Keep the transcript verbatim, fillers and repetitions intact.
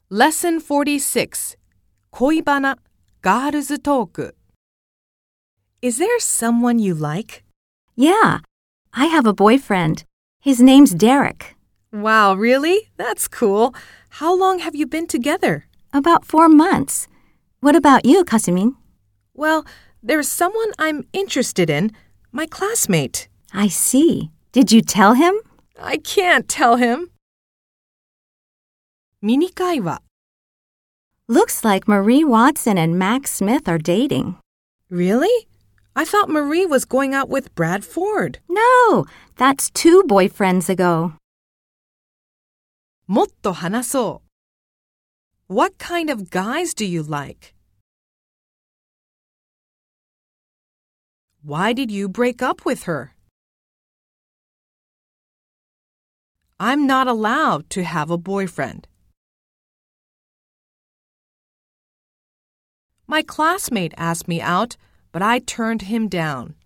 Lesson forty-six 恋バナ Girls Talk Is there someone you like? Yeah, I have a boyfriend. His name's Derek. Wow, really? That's cool. How long have you been together? About four months. What about you, Kasumin? Well, there's someone I'm interested in, my classmate. I see. Did you tell him? I can't tell him. ミニ会話 Looks like Marie Watson and Max Smith are dating. Really? I thought Marie was going out with Brad Ford. No, that's two boyfriends ago. もっと話そう。What kind of guys do you like? Why did you break up with her? I'm not allowed to have a boyfriend. My classmate asked me out, but I turned him down.